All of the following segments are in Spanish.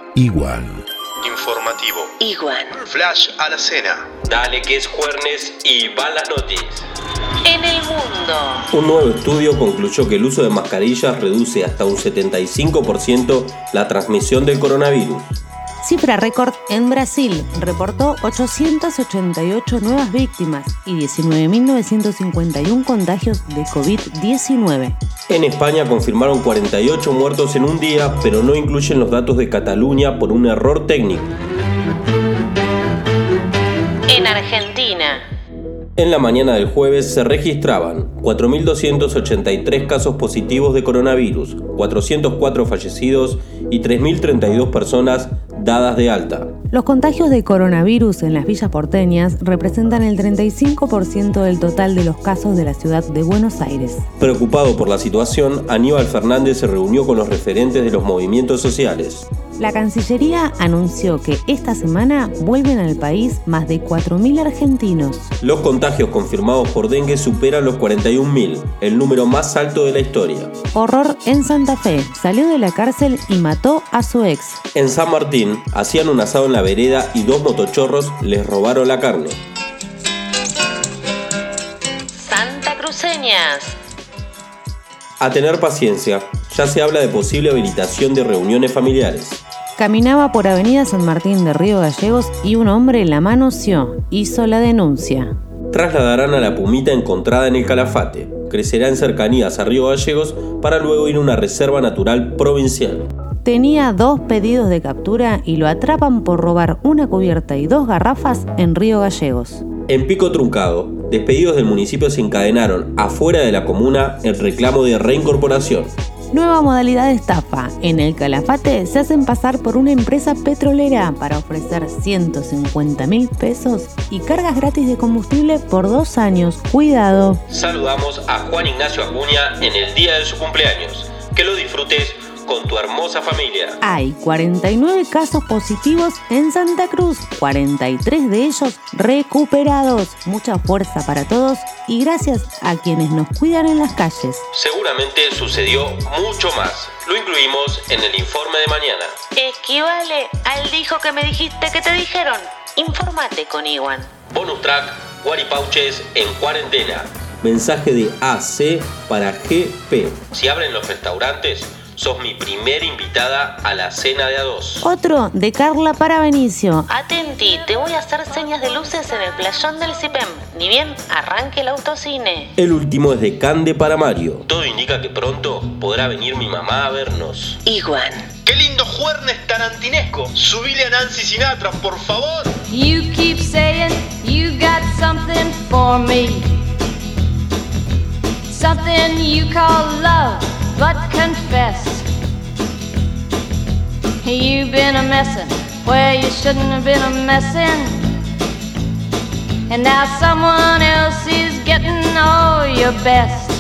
Igual. Informativo. Igual. Flash a la cena. Dale que es jueves y van las noticias. En el mundo. Un nuevo estudio concluyó que el uso de mascarillas reduce hasta un 75% la transmisión del coronavirus. Cifra récord en Brasil, reportó 888 nuevas víctimas y 19.951 contagios de COVID-19. En España confirmaron 48 muertos en un día, pero no incluyen los datos de Cataluña por un error técnico. En Argentina. En la mañana del jueves se registraban 4.283 casos positivos de coronavirus, 404 fallecidos y 3.032 personas dadas de alta. Los contagios de coronavirus en las villas porteñas representan el 35% del total de los casos de la ciudad de Buenos Aires. Preocupado por la situación, Aníbal Fernández se reunió con los referentes de los movimientos sociales. La Cancillería anunció que esta semana vuelven al país más de 4.000 argentinos. Los contagios confirmados por dengue superan los 41.000, el número más alto de la historia. Horror en Santa Fe. Salió de la cárcel y mató a su ex. En San Martín, hacían un asado en la vereda y 2 motochorros les robaron la carne. Santacruceñas. A tener paciencia, ya se habla de posible habilitación de reuniones familiares. Caminaba por Avenida San Martín de Río Gallegos y un hombre la manoseó. Hizo la denuncia. Trasladarán a la pumita encontrada en el Calafate. Crecerá en cercanías a Río Gallegos para luego ir a una reserva natural provincial. Tenía 2 pedidos de captura y lo atrapan por robar una cubierta y 2 garrafas en Río Gallegos. En Pico Truncado, despedidos del municipio se encadenaron afuera de la comuna en reclamo de reincorporación. Nueva modalidad de estafa. En el Calafate se hacen pasar por una empresa petrolera para ofrecer 150.000 pesos y cargas gratis de combustible por 2 años. Cuidado. Saludamos a Juan Ignacio Acuña en el día de su cumpleaños. Que lo disfrutes con tu hermosa familia. Hay 49 casos positivos en Santa Cruz, 43 de ellos recuperados. Mucha fuerza para todos y gracias a quienes nos cuidan en las calles. Seguramente sucedió mucho más. Lo incluimos en el informe de mañana. Equivale al dijo que me dijiste que te dijeron. Infórmate con Iwan. Bonus track, Guaripauches en cuarentena. Mensaje de AC para GP. Si abren los restaurantes, sos mi primera invitada a la cena de A2. Otro de Carla para Benicio. Atenti, te voy a hacer señas de luces en el playón del CIPEM. Ni bien arranque el autocine. El último es de Cande para Mario. Todo indica que pronto podrá venir mi mamá a vernos. Igual. ¡Qué lindo juernes tarantinesco! Subile a Nancy Sinatra, por favor. You keep saying you got something for me, something you call love, but confess you've been a messin' where you shouldn't have been a messin', and now someone else is getting all your best.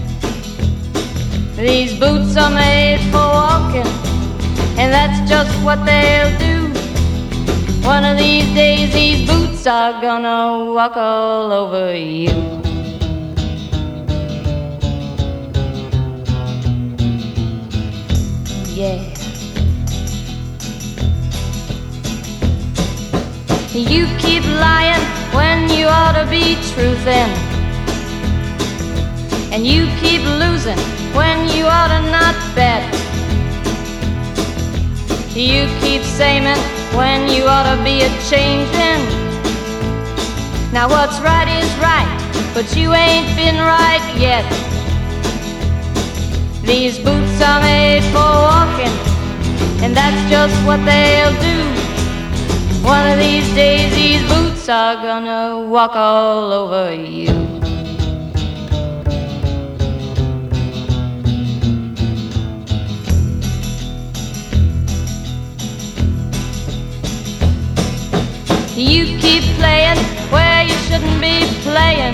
These boots are made for walking, and that's just what they'll do. One of these days these boots are gonna walk all over you. Yeah. You keep lying when you ought to be truthin', and you keep losing when you ought to not bet. You keep saying when you ought to be a-changin'. Now what's right is right, but you ain't been right yet. These boots are made for walking, and that's just what they'll do. One of these days these boots are gonna walk all over you. You keep playing where you shouldn't be playing,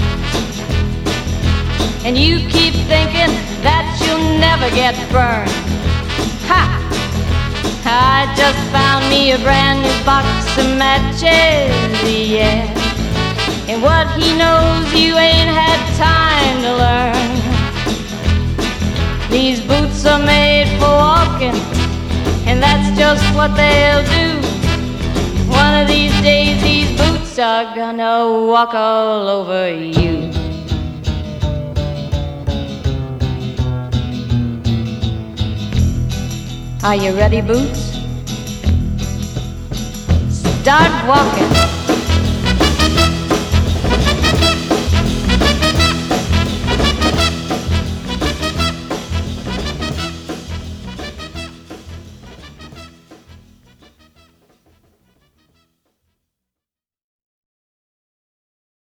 and you keep thinking that you'll never get burned. Ha! I just found me a brand new box of matches, yeah. And what he knows you ain't had time to learn. These boots are made for walking, and that's just just what they'll do. One of these days these boots are gonna walk all over you. Are you ready, Boots? Start walking.